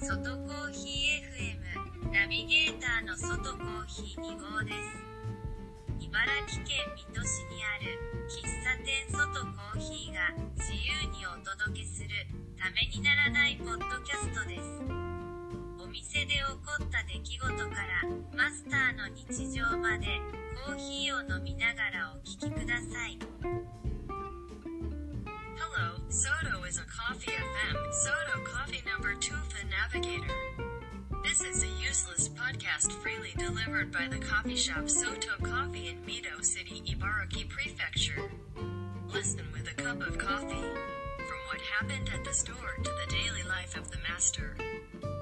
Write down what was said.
外コーヒー FM ナビゲーターの外コーヒー2号です。茨城県水戸市にある喫茶店外コーヒーが自由にお届けするためにならないポッドキャストです。お店で起こった出来事からマスターの日常までコーヒーを飲みながらお聞きください。 Hello, Soto is a Coffee FM, Soto Coffee number 2 for Navigator. This is a useless podcast freely delivered by the coffee shop Soto Coffee in Mito City, Ibaraki Prefecture. Listen with a cup of coffee. From what happened at the store to the daily life of the master.